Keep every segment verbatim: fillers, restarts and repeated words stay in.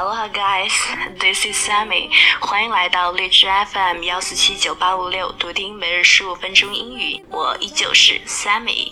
Aloha guys, this is Sammy. 欢迎来到荔枝 F M 幺四七九八五六，读听每日十五分钟英语。我依旧是 Sammy。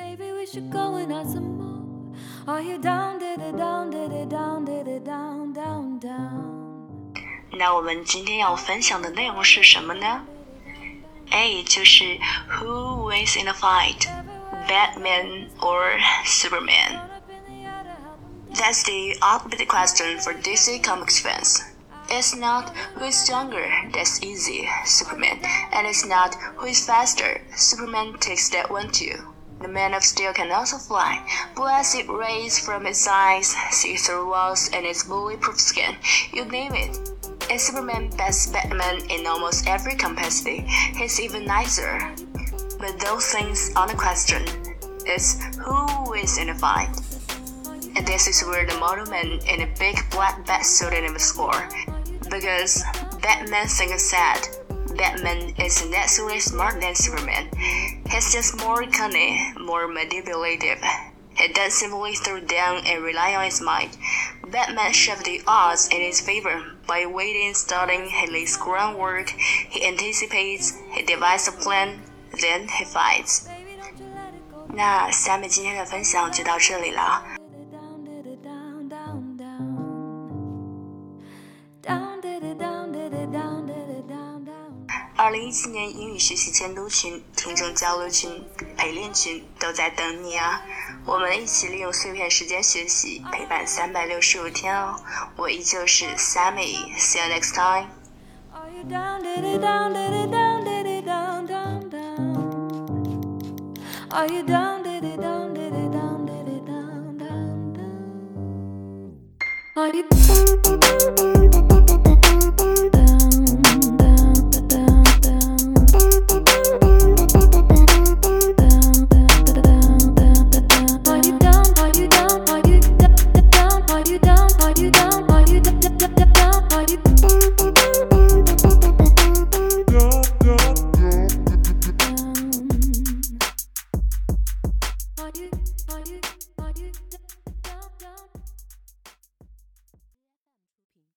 那我们今天要分享的内容是什么呢？ A 就是 Who wins in a fight, Batman or Superman?That's the ultimate question for D C Comics fans. It's not who is stronger, that's easy, Superman. And it's not who is faster, Superman takes that one too. The Man of Steel can also fly, blast rays from its eyes, see through walls and its bulletproof skin, you name it. And Superman beats Batman in almost every capacity. He's even nicer. But those things aren't a question. It's who wins in a fight.And this is where the Model Man in a big black bat suit in the score. Because Batman thinks sad. Batman is naturally smart than Superman. He's just more cunning, more manipulative. He doesn't simply throw down and rely on his might. Batman shifts the odds in his favor by waiting, starting, he lays groundwork, he anticipates, he devises a plan, then he fights. 那下面今天的分享就到这里了。二零一七年英语学习监督群、听众交流群、陪练群都在等你啊！我们一起利用碎片时间学习，陪伴三百六十五天哦。我依旧是 Sammy，See you next time. Are you down, did it down, did it down, did it down, down, down? Are you down, did it down, did it down, did it down, down, down? Are you